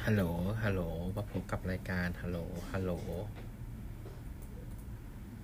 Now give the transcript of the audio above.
ฮัลโหลฮัลโหลมาพบกับรายการฮัลโหลฮัลโหล